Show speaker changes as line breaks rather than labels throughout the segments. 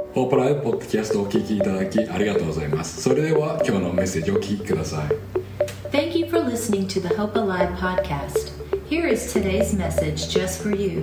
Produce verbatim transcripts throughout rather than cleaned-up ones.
ホープライブポッドキャストをお聞きいただきありがとうございます。それでは今日のメッセージをお聞きください。
Thank you for listening to the Hope Alive podcast. Here is today's message just for you.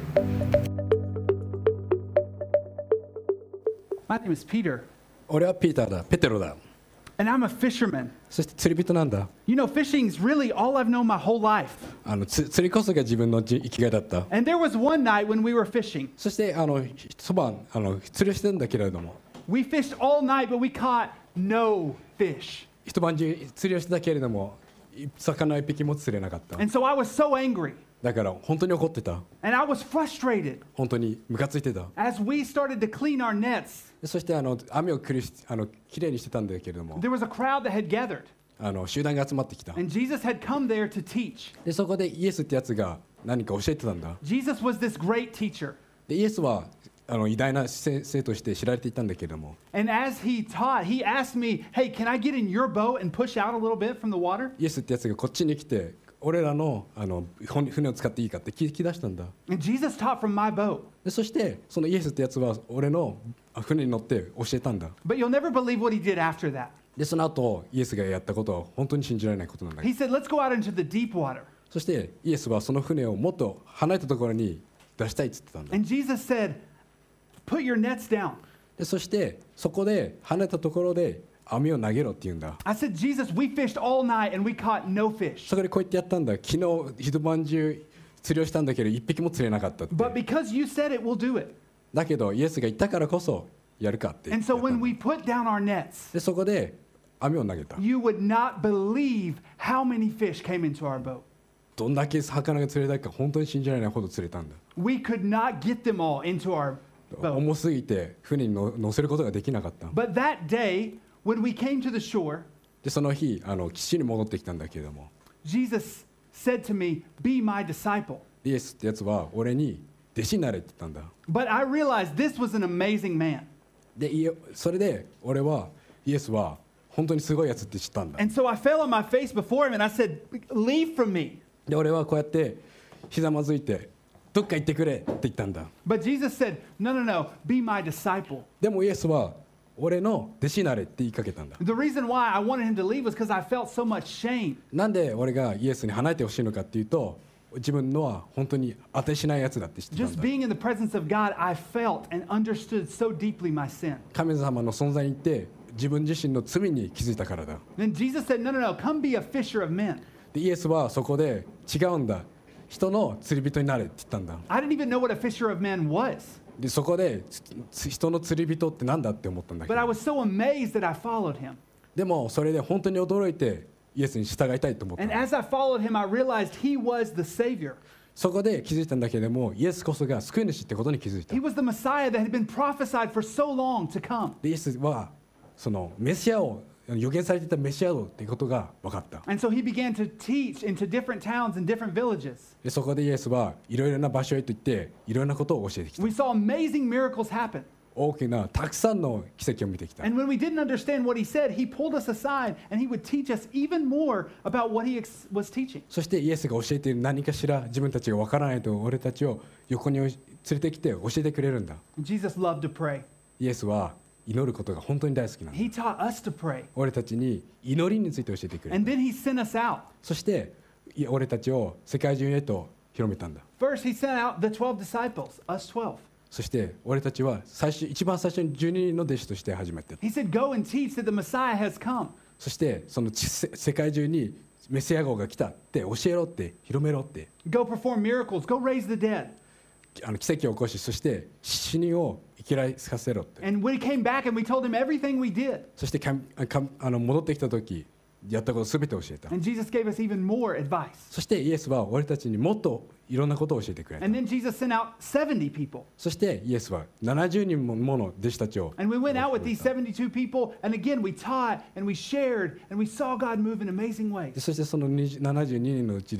My name is Peter,
俺はピーターだ、ペテロだ。
and I'm a fisherman.
そして釣り人なんだ。
You know, fishing is really all I've known my whole life.
あのつ釣りこそが自分の生きがいだった。
And there was one night when we were fishing.
そしてあの一晩あの釣りをしてるんだけれども、
We fished all night, but we caught no fish.
一晩中釣りをしてたけれども、魚一匹も釣れなかった。
And so I was so angry,
だから本当に怒ってた。
and I was frustrated
本当にムカついてた。
as we started to clean our nets.
そしてあの網をくりしあのきれいにしてたんだけれども、
There was a crowd that had gathered,
あの集団が集まってきた。
and Jesus had come there to teach.
でそこでイエスってやつが何か教えてたんだ。
Jesus was this great teacher.
でイエスはあの偉大な先生として知られていたんだけれども、
And as he taught, he asked me, hey, can I get in your boat and push out a little bit from the water?
イエスってやつがこっちに来て、俺らのあの船を使っていいかって聞き出したんだ。
And Jesus taught from my boat.
でそしてそのイエスってやつは俺の船に乗って教えたんだ。
But you'll never believe what he did after that.
でその後イエスがやったことは本当に信じられないことなんだ。
He said, let's go out into the deep water.
そしてイエスはその船をもっと離れたところに出したいって言ってたんだ。
And Jesus said, put your nets down.
でそしてそこで離れたところで網を投げろって言うんだ。
I said, Jesus, we fished all night and we caught no fish.
そこでこう言ってやったんだ。昨日一晩中釣りをしたんだけど一匹も釣れなかったって。
But because you said it, we'll do it.
だけどイエスが言ったからこそやるかって言
And
ってや
so
ったん
when
だ。
we put down our nets,
でそこで網を投げた。
you would not believe how many fish came into our boat.
どんだけ魚が釣れたか本当に信じられないほど釣れたんだ。
We could not get them all into our boat.
重すぎて船にの乗せることができなかった。
But that day, when we came to the shore,
でその日あの岸に戻ってきたんだけれども、
Jesus said to me, be my disciple.
イエスってやつは俺に弟子になれって言ったんだ。
But I realized this was an amazing man.
でいえそれで俺はイエスは本当にすごいやつって知ったんだ。
And so I fell on my face before him and I said, leave from me.
で俺はこうやってひざまずいてどっか行ってくれって言ったんだ。
But Jesus said, no, no, no, be my disciple.
でもイエスは俺の弟子になれって言いかけたんだ。
The reason why I wanted him to leave was because I felt so much shame.
なんで俺がイエスに離れてほしいのかっていうと、自分のは本当に当てしないやつだって知ってたん
Just
だ。
being in the presence of God, I felt and understood so deeply my sin.
神様の存在にいて自分自身の罪に気づいたからだ。
Then Jesus said, no, no, no, come be a fisher of men.
でイエスはそこで違うんだ。人の釣り人になれって言ったんだ。
I didn't even know what a fisher of men was.
でそこでつ人の釣り人ってなんだって思ったんだけ
But I
ど、
was so amazed that I followed him.
でもそれで本当に驚いてイエスに従いたいと思ったん
And
だ。
as I followed him, I realized he was the Savior.
そこで気づいたんだけれども、イエスこそが救い主ってことに気づいた
He。was the Messiah that had been prophesied for so long to come.
でイエスはそのメシアを予言されていたメシアをっていうことが分かった。
And so he began to teach into different towns and different villages.
でそこでイエスはいろいろな場所へと行っていろいろなことを教えてきた。
We saw amazing miracles happen.
大きなたくさんの奇跡を見てきた。
And when we didn't understand what he said, he pulled us aside and he would teach us even more about what he ex- was teaching.
そしてイエスが教えている何かしら自分たちが分からないと俺たちを横に連れてきて教えてくれるんだ。
Jesus loved to pray.
イエスは祈ることが本当に大好きなんだ。
He taught us to pray.
俺たちに祈りについて教えてくれる。
And then he sent us out.
そしてい俺たちを世界中へと広めたんだ。
First, he sent out the twelve disciples, us twelve.
そして俺たちは最初一番最初にじゅうににんの弟子として始めて、
He said, go and teach that the Messiah has come.
そしてそのちせ世界中にメシア号が来たって教えろって広めろって
Go perform miracles. Go raise the dead.
あの奇跡を起こし、そして死人を生きらさせろって。
And we came back and we told him everything we did.
そしてかんかんあの戻ってきた時やったことすべて教えた。
And Jesus gave us even more advice.
そしてイエスは俺たちにもっといろんなことを教えてくれた。
And then Jesus sent out seventy people.
そしてイエスはななじゅうにんもの弟子たちを
And we went out with these seventy-two people, and again we taught and we shared and we saw God move in amazing
で
ways.
そしてそのにじゅうななじゅうににんのうちで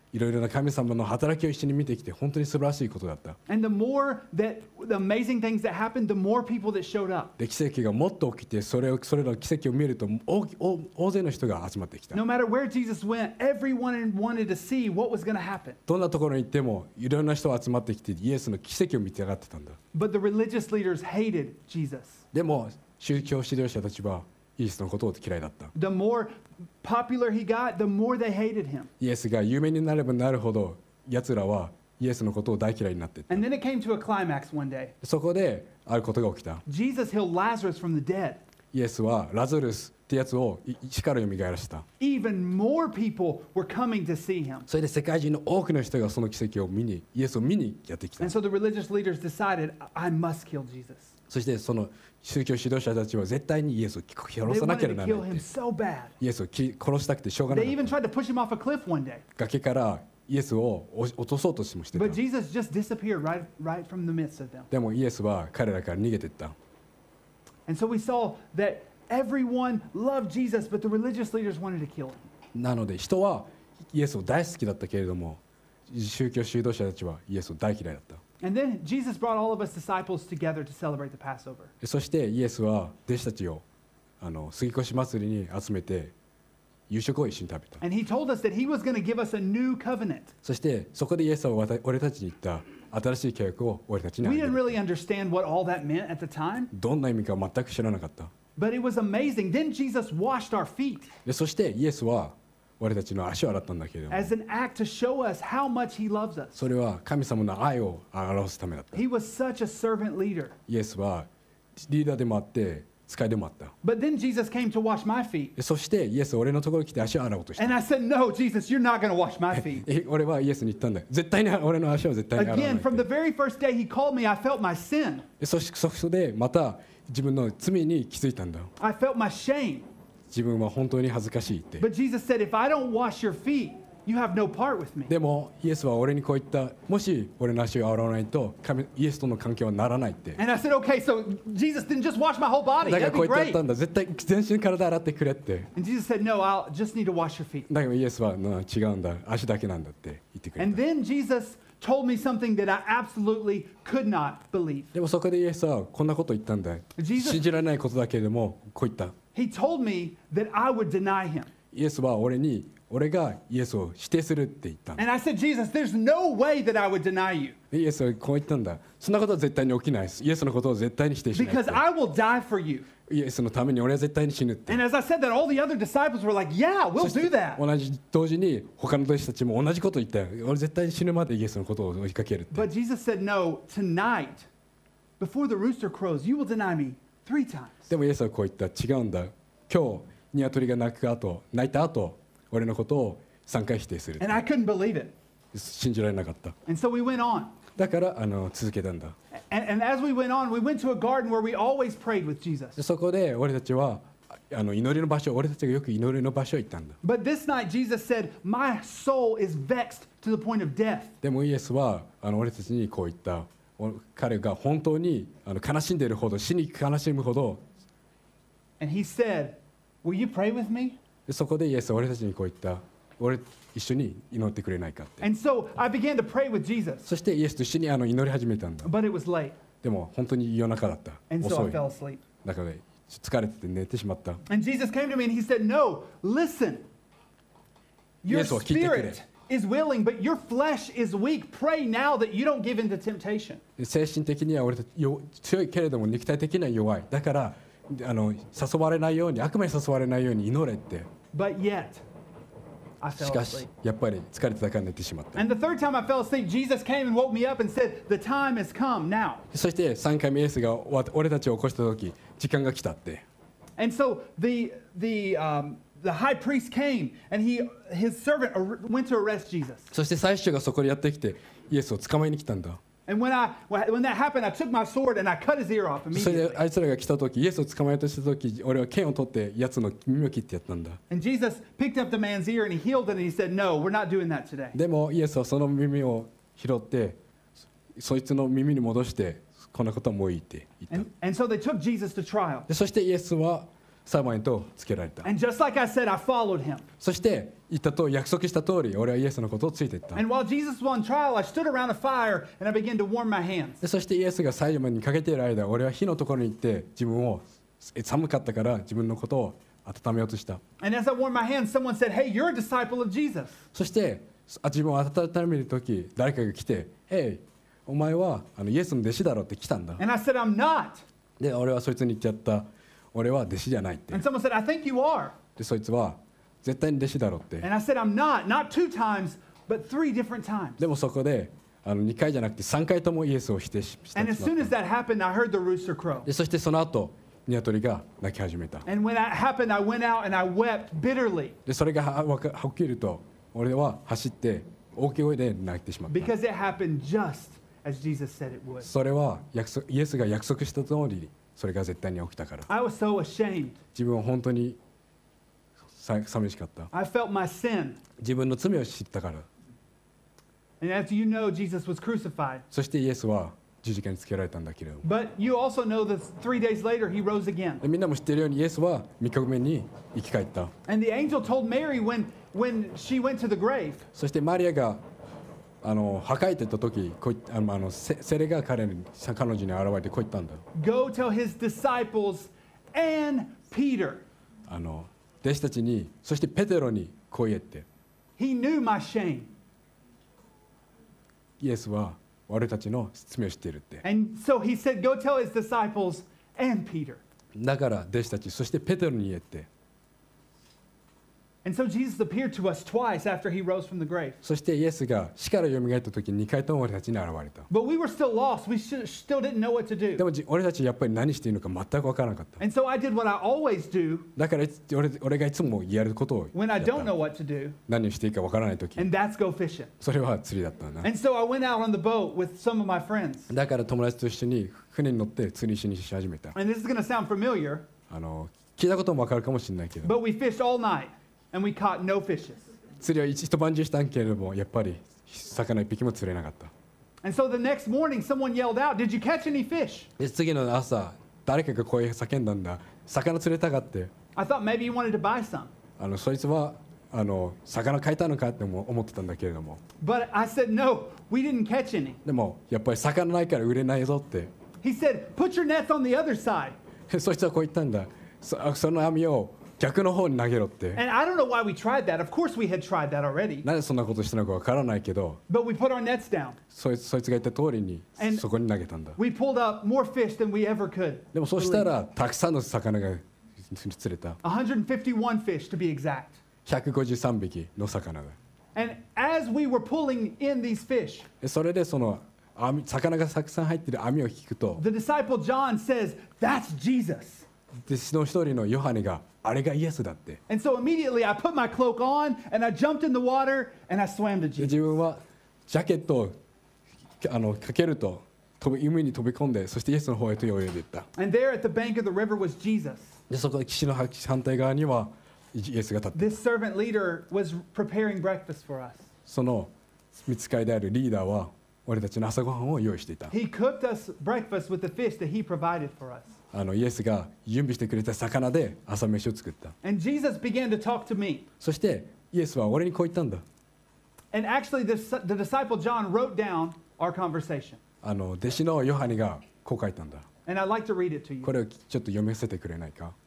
いろいろな神様の働きを一緒に見てきて本当に素晴らしいことだった。
And the more that the amazing things that happened, the more people that showed up.
で奇跡がもっと起きてそれをそれらの奇跡を見ると大大大勢の人が集まってきた。
No matter where Jesus went, everyone wanted to see what was going to happen.
どんなところに行ってもいろんな人が集まってきてイエスの奇跡を見て上がってたんだ。
But the religious leaders hated Jesus.
でも宗教指導者たちはイエスのことを嫌いだった。
The more popular he got, the more they hated him.
イエスが有名になればなるほど奴らはイエスのことを大嫌いになっていった。
And then it came to a climax one day.
そこであることが起きた。
Jesus healed Lazarus from the dead.
イエスはラザルスってやつを一から蘇らせた。
Even more people were coming to see him.
それで世界中の多くの人がその奇跡を見にイエスを見にやってきた。
And so the religious leaders decided, I must kill Jesus.
そしてその宗教指導者たちは絶対にイエスを殺
They
さなけ
wanted
れば
to
なら
kill
ないっ
him
て。
so bad.
イエスをき殺したくてしょうがな
They
かっ
even
た。
tried to push him off a cliff one day.
崖からイエスを落とそうとしてもしてた。
But Jesus just disappeared right, right from the midst of them.
でもイエスは彼らから逃げていった。
And so we saw that everyone loved Jesus, but the religious leaders wanted to kill him.
なので人はイエスを大好きだったけれども宗教指導者たちはイエスを大嫌いだった。
And then Jesus brought all of us disciples together to celebrate the Passover.
そしてイエスは弟子たちをあの杉越祭りに集めて夕食を一緒に食べた。
And he told us that he was going to give us a new covenant.
そしてそこでイエスはわた俺たちに言った新しい契約を俺たちにあ
We
げ
didn't
る。
really understand what all that meant at the time,
どんな意味か全く知らなかった。
but it was amazing. Then Jesus washed our feet
でそしてイエスは俺たちの足を洗ったんだけれども
as an act to show us how much he loves us.
それは神様の愛を表すためだった。
He was such a servant leader.
イエスはリーダーでもあって使いでもあった。
But then Jesus came to wash my feet.
でそしてイエスは俺のところに来て足を洗おうとした。
And I said, No, Jesus, you're not going to wash my feet.
え俺はイエスに言ったんだよ。絶対に俺の足を絶対に洗わないっ
Again,
て
from the very first day he called me, I felt my sin.
でそしてそこでまた自分の罪に気づいたんだ。
I felt my shame.
自分は本当に恥ずかしいって。
But Jesus said, If I don't wash your feet, you have no part with me.
でもイエスは俺にこう言った。もし俺の足を洗わないと神イエスとの関係はならないって。
And I said, Okay, so Jesus didn't just wash my whole body.
だから
That'd
こう
be
言ってやっ
great.
たんだ。絶対全身体洗ってくれって。
And Jesus said, No, I'll just need to wash your feet.
だけどイエスはな違うんだ。足だけなんだって言ってくれ
And
た。
then Jesus told me something that I absolutely could not believe.
でもそこでイエスはこんなこと言ったんだ。
Jesus-
信じられないことだけれどもこう言った。
He told me that I would deny him.
イエスは俺に俺がイエスを否定するって言ったんだ。
And I said, Jesus, there's no way that I would deny you
イエスはこう言ったんだ。そんなことは絶対に起きないです。イエスのことを絶対に否定しないって
because I will die for you.
イエスのために俺は絶対に死ぬって。
And as I said that, all the other disciples were like, Yeah, we'll
そして
do that.
同じ同時に他の弟子たちも同じこと言ったよ。俺絶対に死ぬまでイエスのことを追いかけるって。
But Jesus said, No, tonight, before the rooster crows, you will deny me three times.
でもイエスはこう言った。違うんだ。今日鶏が鳴く後鳴いた後俺のことをさんかい否定する。
And I couldn't believe it.
信じられなかった。
And so we went on.
だからあの続けたんだ。
And, and as we went on, we went to a garden where we always prayed with
で
Jesus.
そこで俺たちはあの祈りの場所俺たちがよく祈りの場所へ行ったんだ。
But this night, Jesus said, My soul is vexed to the point of death.
でもイエスはあの俺たちにこう言った。お彼が本当にあの悲しんでいるほど死に悲しむほど
And he said, Will you pray with me?
でそこでイエスは俺たちにこう言った。俺一緒に祈ってくれないかって。
And so I began to pray with Jesus,
そしてイエスと一緒にあの祈り始めたんだ。
but it was late.
でも本当に夜中だった。
And so
遅
I
い。
fell asleep.
だから疲れてて寝てしまった。
And Jesus came to me and he said, No, listen. Your
Yes, well, keep it
spirit is willing, but your flesh is weak. Pray now that you don't give in to temptation.
で精神的には俺たちよ強いけれども肉体的には弱い。だからあの誘われないように悪魔に誘われないように祈れって。
But yet, I
し
fell
かし
asleep.
やっぱり疲れてたから寝てしまった。
And the third time I fell asleep, Jesus came and woke me up and said, The time has come now.
そしてさんかいめイエスがわ俺たちを起こした時時間が来たって。
And so the, the, um, the high priest came and he, his servant ar- went to arrest Jesus.
そして最初がそこにやってきてイエスを捕まえに来たんだ。
And when, I, when that happened, I took my sword and I cut his ear off
それ
immediately.
であいつらが来た時イエスを捕まえようとした時俺は剣を取ってやつの耳を切ってやったんだ。
And Jesus picked up the man's ear and he healed it and he said, No, we're not doing that today.
でもイエスはその耳を拾ってそいつの耳に戻してこんなことはもういいって言った。
And, and so they took Jesus to trial.
でそしてイエスはサマイとつけられた。
And just like I said, I followed him.
そして言ったと約束した通り俺はイエスのことをついていった。
And while Jesus was on trial, I stood around a fire and I began to warm my hands.
でそしてイエスが最後にかけている間俺は火のところに行って自分を寒かったから自分のことを温めようとした。
And as I warmed my hands, someone said, "Hey, you're a disciple of Jesus."
そしてあ自分を温めるとき誰かが来て「Hey、お前はあのイエスの弟子だろ」って来たんだ。
And I said, "I'm not."
で俺はそいつに言っちゃった。俺は弟子じゃないって。
And someone said, "I think you are."
でそいつは絶対に弟子だろって。
And I said, "I'm not. Not two times, but three different times."
でもそこであのにかいじゃなくてさんかいともイエスを否定しした
And as soon as that happened, I heard the rooster crow.
でそしてその後鶏が鳴き始めた。
And when that happened, I went out and I wept bitterly
でそれがはわか起きると俺は走って大きい声で泣いてしまった。
because it happened just as Jesus said it would.
それは約束イエスが約束した通りそれが絶対に起きたから。
I was so ashamed.
自分は本当にさ寂しかった。
I felt my sin.
自分の罪を知ったから。
And as you know, Jesus was crucified.
そしてイエスは十字架につけられたんだけれども。
But you also know that three days later, he rose again.
でみんなも知っているようにイエスはみっかめに生き返った。
And the angel told Mary when, when she went to the grave,
そしてマリアがあの墓へ行った時こういあのあのセセレが彼に彼女に現れてこう言ったんだ。
"Go tell his disciples and Peter."
あの弟子たちにそしてペテロにこう言えって。
He knew my shame.
イエスは俺たちの罪を知っているって。
And so he said, "Go tell his disciples and Peter."
だから弟子たちそしてペテロに言えって。
And so Jesus appeared to us twice after he rose from the grave.
そしてイエスが死からよみがえった時ににかいとも俺たちに現れた。
But we were still lost. We should, still didn't know what to
で
do.
もじ俺たちやっぱり何していいのか全く分からなかった。
And so I did what I always do
だからいつ俺俺がいつもやることを
when
や
I
っ
don't know
た。
what to do,
何をしていいか分からない時
and that's go fishing.
それは釣りだったんだ。
And so I went out on the boat with some of my friends.
だから友達と一緒に船に乗って釣りしにし始めた。
And this is going to sound familiar,
あの聞いたことも分かるかもしれないけど
but we fished all night and we caught no fishes.
釣りは一一晩中したんけれどもやっぱり魚一匹も釣れなかった。
And so the next morning, someone yelled out, "Did you catch any fish?"
で次の朝誰かが声叫んだんだ。魚釣れたかって。
I thought maybe you wanted to buy some.
あのそいつはあの魚買いたのかっても思ってたんだけれども
But I said, "No, we didn't catch any."
でもやっぱり魚ないから売れないぞって。
He said, "Put your nets on the other side."
そいつはこう言ったんだ。そその網を逆の方に投げろって。
And I don't know why we tried that. Of course, we had tried that already.
なぜそんなことしたのかわからないけど
But we put our nets down.
そいつそいつが言った通りに
And-
そこに投げたんだ。
We pulled up more fish than we ever could.
でもそうしたらたくさんの魚が釣れた。
one hundred fifty-one fish to be exact.
ひゃくごじゅうさんびきの魚が。
And as we were pulling in these fish,
でそれでその網魚がたくさん入っている網を引くと
the disciple John says, "That's Jesus."
弟子の一人のヨハネがあれがイエスだって。
And so immediately I put my cloak on and I jumped in the water and I swam to
で
Jesus.
自分はジャケットをあのかけると飛び海に飛び込んでそしてイエスの方へと泳いでいった。
And there at the bank of the river was Jesus.
でそこで岸の反対側にはイエスが立って
This servant leader was preparing breakfast for us.
その御使いであるリーダーは俺たちの朝ごはんを用意していた。
He cooked us breakfast with the fish that he provided for us.
あのイエスが準備してくれた魚で朝飯を作った。
And Jesus began to talk to me.
そしてイエスは俺にこう言ったんだ。
And actually, the, the disciple John wrote down our conversation.
あの弟子のヨハネがこう書いたんだ。
And I'd like to read it to you.
これをちょっと読みせてくれないか。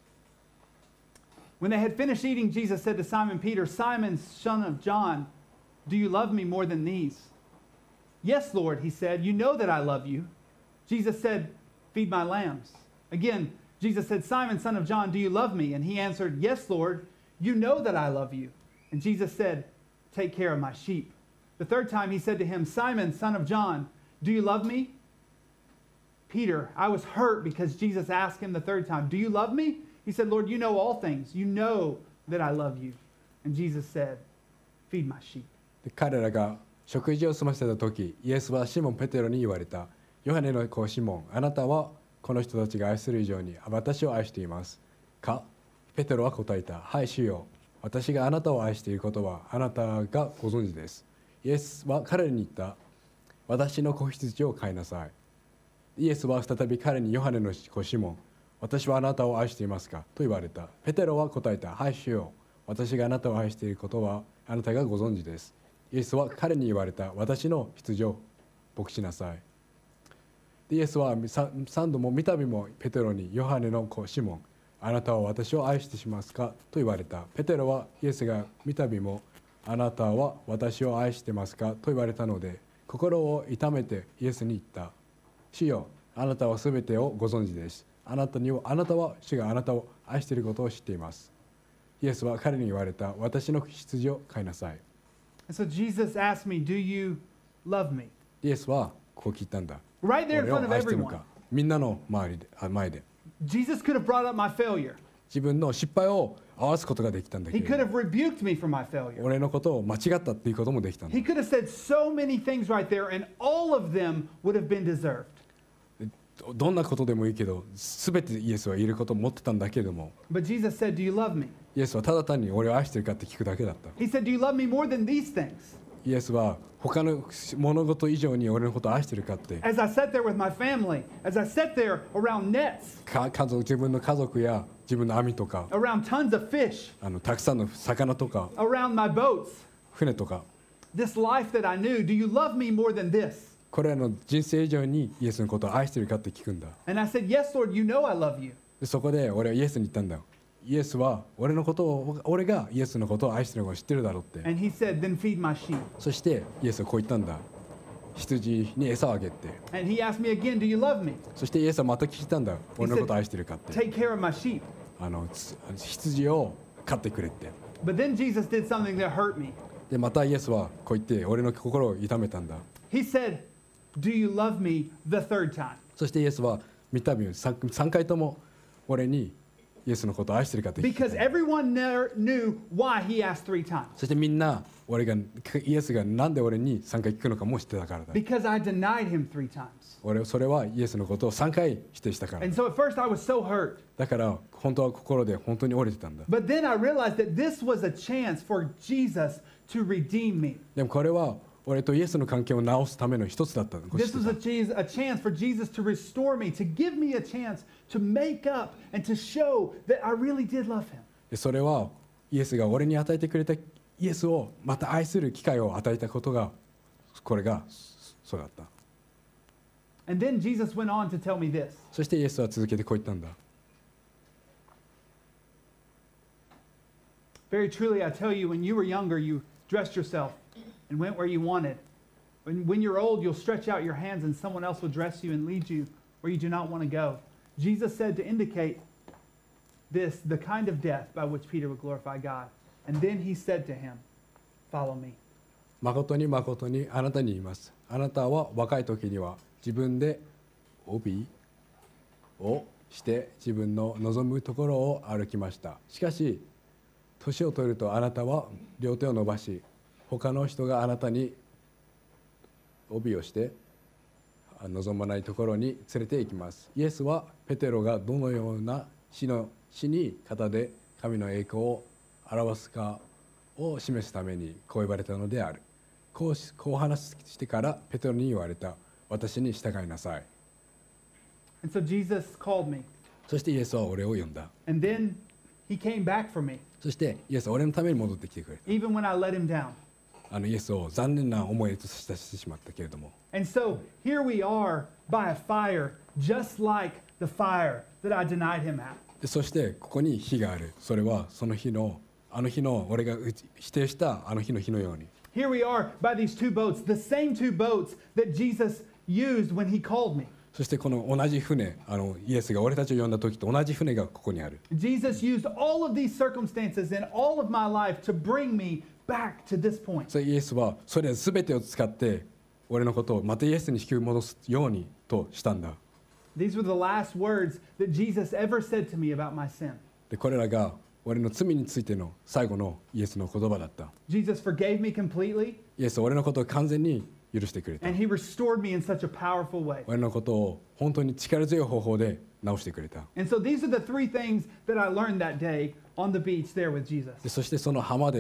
When they had finished eating, Jesus said to Simon Peter, "Simon, son of John, do you love me more than these?" "Yes, Lord," he said. "You know that I love you." Jesus said, "Feed my lambs." Again, Jesus said, "Simon, son of John, do you love me?" And he answered, "Yes, Lord, you know that I love you." And Jesus said, "Take care of my sheep." The third time he said to him, "Simon, son of John, do you love me?" Peter, I was hurt because Jesus asked him the third time, "Do you love me?" He said, "Lord, you know all things. You know that I love you." And Jesus said, "Feed my sheep."
で彼らが食事を済ませた時イエスはシモン・ペテロに言われた。ヨハネの子シモン、あなたはこの人たちが愛する以上に私を愛していますか。ペテロは答えた。はい、主よ。私があなたを愛していることはあなたがご存知です。イエスは彼に言った。私の子羊を飼いなさい。イエスは再び彼にヨハネの子シモン、 私はあなたを愛していますかと言われた。ペテロは答えた。はい、主よ。私があなたを愛していることはあなたがご存知です。イエスは彼に言われた。私の羊を牧しなさい。でイエスは三度も三度もペテロに、ヨハネの子シモン、あなたは私を愛してしますかと言われた。ペテロはイエスが三度もあなたは私を愛してますかと言われたので、心を痛めてイエスに言った。主よ、あなたはすべてをご存知です。あなたにはあなたは主があなたを愛していることを知っています。イエスは彼に言われた。私の羊を飼いなさい。
And so Jesus asked me, "Do you love me?"
イエスはこう聞いたんだ。
Right there in
俺を
front of
愛しているの
everyone.
か。みんなの周りで、あ前で。
Jesus could have brought up my failure.
自分の失敗を合わすことができたんだけ
He could
ど、
have rebuked me for my failure.
俺のことを間違ったっていうこともできたんだ。
He could have said so many things right there, and all of them would have been deserved.
どんなことでもいいけど、すべてイエスは言えることを持ってたんだけども、
But Jesus said, "Do you love me?"
イエスはただ単に俺を愛してるかって聞くだけだった。
He said, "Do you love me more than these things?"
イエスは他の物事以上に俺のことを愛してるかって、
As I sat there with my family, as I sat there around nets,
か家族自分の家族や自分の網とか、
around tons of fish,
あのたくさんの魚とか
around my boats,
船とか、
this life that I knew, do you love me more than this?
これらの人生以上にイエスのことを愛してるかって聞くんだ。
And I said, "Yes, Lord, you know I love you."
でそこで俺はイエスに言ったんだよ。イエスは俺のことを、俺がイエスのことを愛してるのを知ってるだろうって。
And he said, "Then feed my sheep."
そしてイエスはこう言ったんだ。羊に餌をあげて。
And he asked me again, "Do you love me?"
そしてイエスはまた聞いたんだ。俺のことを愛してるかって。
Take care of my sheep.
あのつ羊を飼ってくれって。
But then Jesus did something that hurt me.
でまたイエスはこう言って俺の心を痛めたんだ。
He said, "Do you love me?" the third time.
そしてイエスは三度さんかいとも俺にイエスのことを愛してるかって聞いた。
Because everyone never knew why he asked three times.
そしてみんな俺がイエスがなんで俺にさんかい聞くのかも知ってたからだ。
Because I denied him three times.
俺それはイエスのことをさんかい否定したから。
And so at first I was so hurt.
だから本当は心で本当に折れてたんだ。
But then I realized that this was a chance for Jesus to redeem me.
でもこれは俺とイエスの関係を直すための一つだったの。
This was a chance, a chance for Jesus to restore me, to give me a chance to make up and to show that I really did love him.
でそれはイエスが俺に与えてくれたイエスをまた愛する機会を与えたことがこれがそうだった。
And then Jesus went on to tell me this.
そしてイエスは続けてこう言ったんだ。
Very truly, I tell you, when you were younger, you dressed yourself and went where you wanted. When, when you're old, you'll stretch out your hands and someone else will dress you and lead you where you do not want to go. Jesus said to indicate this, the kind of death by which Peter would glorify God. And then he said to him, "Follow me."
誠に誠にあなたに言います。あなたは若い時には自分で帯をして自分の望むところを歩きました。しかし年を取るとあなたは両手を伸ばし、他の人があなたに帯をして望まないところに連れて行きます。イエスはペテロがどのような死の死に方で神の栄光を表すかを示すためにこう言われたのである。こうしこう話してからペテロに言われた。私に従いなさい。
And so Jesus called me.
そしてイエスは俺を呼んだ。
And then he came back for me,
そしてイエスは俺のために戻ってきてくれた。
even when I let him down.
あのイエスを残念な思いとしてしまったけれども。
And so here we are by a fire, just like the fire that I denied him at.
でそしてここに火がある。それはその日のあの日の俺が否定したあの日の日のように。
Here we are by these two boats, the same two boats that Jesus used when he called me.
そしてこの同じ船、あのイエスが俺たちを呼んだ時と同じ船がここにある。
Jesus used all of these circumstances in all of my life to bring me back to this point.
それイエスはそれ全てを使って俺のことをまたイエスに引き戻すようにとしたんだ。
These were the last words that Jesus ever said to me about my sin.
でこれらが俺の罪についての最後のイエスの言葉だった。
Jesus forgave me completely,
イエスは俺のことを完全に許してくれた。
and he restored me in such a powerful way.
俺のことを本当に力強い方法で直してくれた。
And so these are the three things that I learned that day on the beach there with Jesus.
でそしてその浜で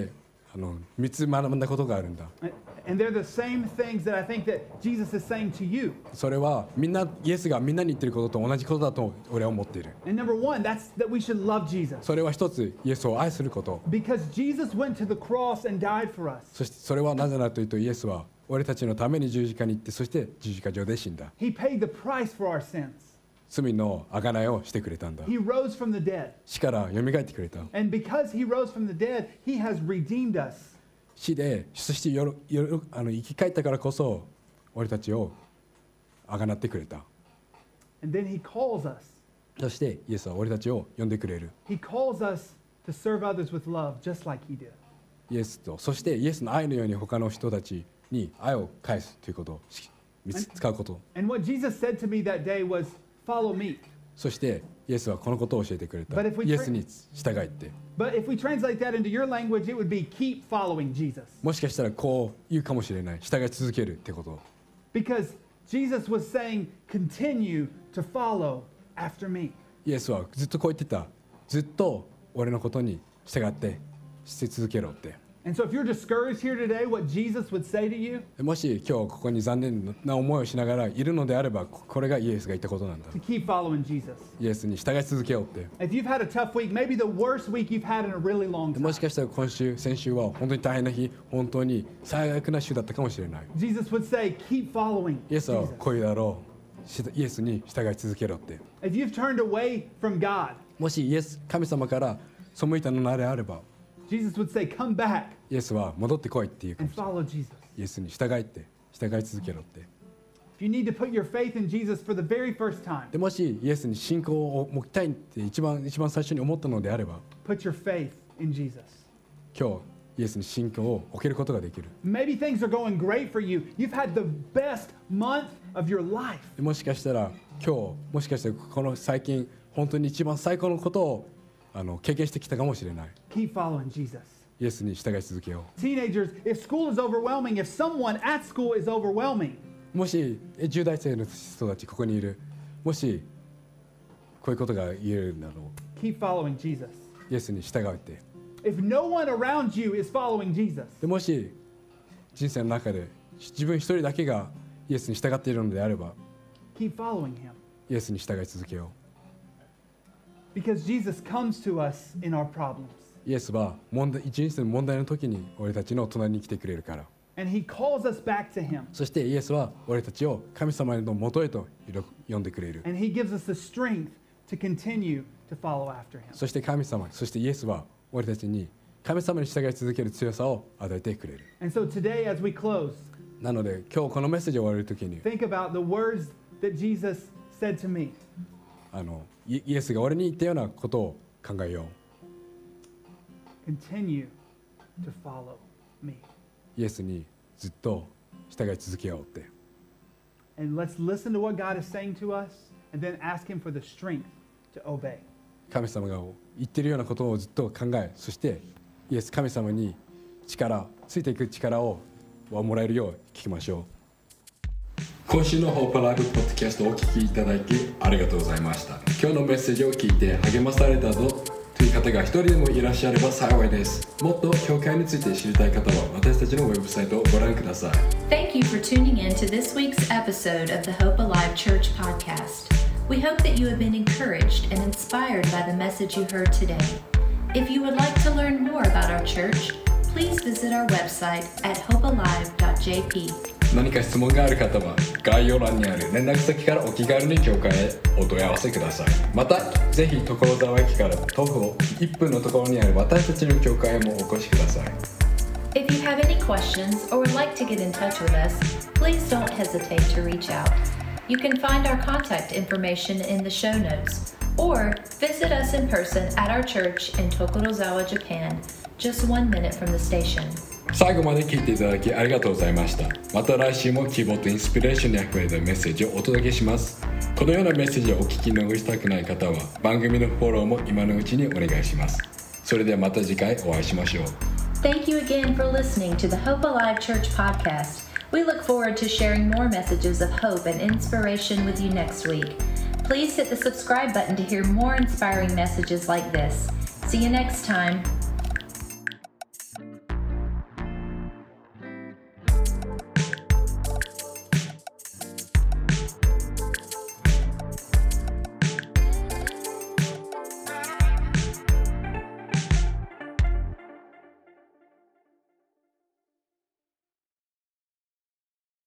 あのみっつ学んだことがあるんだ。
And they're the same things that I think that Jesus is saying to you.
それはみんなイエスがみんなに言ってることと同じことだと俺は思っている。
And number one, that's that we should love Jesus.
それは一つイエスを愛すること。
Because Jesus went to the cross and died for us.
そしてそれはなぜならというとイエスは俺たちのために十字架に行ってそして十字架上で死んだ。
He paid the price for our sins.
罪の贖いをしてくれたんだ。
He rose from the dead.
死から蘇ってくれた。
And because he rose from the dead, he has redeemed us.
死でそしてよろよろあの生き返ったからこそ俺たちを贖ってくれた。
And then he calls us.
そしてイエスは俺たちを呼んでくれる。
He calls us to serve others with love, just like he did.
イエスとそしてイエスの愛のように他の人たちに愛を返すということを使うこと。
And what Jesus said to me that day was, follow me.
そしてイエスはこのことを教えてくれた。
But if we
イエスに従いって。
But if we translate that into your language, it would be keep following Jesus.
もしかしたらこう言うかもしれない。従い続けるってこと。
Because Jesus was saying, continue to follow after me.
イエスはずっとこう言ってた。ずっと俺のことに従ってして続けろって。
And so if you're discouraged here today, what Jesus would say to you,
もし今日ここに残念な思いをしながらいるのであれば、これがイエスが言ったことなんだ。
to keep following Jesus.
イエスに従い続けようって。
If you've had a tough week, maybe the worst week you've had in a really long
も
time,
しかしたら今週、先週は本当に大変な日、本当に最悪な週だったかもしれない。
Jesus would say, keep following
イエスは
Jesus.
こういうだろう。しイエスに従い続けろって。
If you've turned away from God,
もしイエス、神様から背いたのであれば、
Jesus would say, come back
イエスは戻ってこいっていうかも
and
しれない。
follow Jesus.
イエスに従いって従い続けろって。
If you need to put your faith in Jesus for the very first time,
でもしイエスに信仰を持ちたいって一番一番最初に思ったのであれば、
put your faith in Jesus.
今日イエスに信仰を置けることができる。
Maybe things are going great for you. You've had the best month of your life.
でもしかしたら今日もしかしたらこの最近本当に一番最高のことをあの経験してきたかもしれない。
Keep following Jesus.
イエスに従い続けよ
Teenagers, if school is overwhelming, if someone at school is overwhelming,
う。もしえじゅう代生の人たちここにいる。もしこういうことが言えるんだろう。
keep following Jesus.
イエスに従うって。
If no one around you is following Jesus,
でもし人生の中で自分一人だけがイエスに従っているのであれば、
keep following him.
イエスに従い続けよ
Because Jesus comes to us in our problems.
う。イエスは問題人生の問題の時に俺たちの隣に来てくれるから。
And he calls us back to him.
そしてイエスは俺たちを神様の元へと呼んでくれる。
And he gives us the strength to continue to follow after him.
そして神様、そしてイエスは俺たちに神様に従い続ける強さを与えてくれる。
And so today, as we close,
なので今日このメッセージを終わる時に
think about the words that Jesus said to me.
あのイイエスが俺に言ったようなことを考えよ
Continue to follow me.
う。イエスにずっと従い続けようって。
And let's listen to what God is saying to us and then ask him for the strength to obey.
神様が言ってるようなことをずっと考え、そしてイエス神様に力、ついていく力をもらえるよう聞きましょう。今週のホープライブポッドキャストをお聞きいただきありがとうございました。今日のメッセージを聞いて励まされたぞという方が一人でもいらっしゃれば幸いです。もっと教会について知りたい方は私たちのウェブサイトをご覧ください。
Thank you for tuning in to this week's episode of the Hope Alive Church podcast. We hope that you have been encouraged and inspired by the message you heard today. If you would like to learn more about our church, please visit our website at hope alive dot j p.
何か質問がある方は概要欄にある連絡先からお気軽に教会へお問い合わせください。またぜひ所沢駅から徒歩いっぷんのところにある私たちの教会へもお越しください。
If you have any questions or would like to get in touch with us, please don't hesitate to reach out. You can find our contact information in the show notes or visit us in person at our church in Tokorozawa, Japan, just one minute from the station.
最後まで聞いていただきありがとうございました。また来週も希望とインスピレーションにあふれたメッセージをお届けします。このようなメッセージをお聞き逃したくない方は番組のフォローも今のうちにお願いします。それではまた次回お会いしましょう。
Thank you again for listening to the Hope Alive Church podcast. We look forward to sharing more messages of hope and inspiration with you next week. Please hit the subscribe button to hear more inspiring messages like this. See you next time.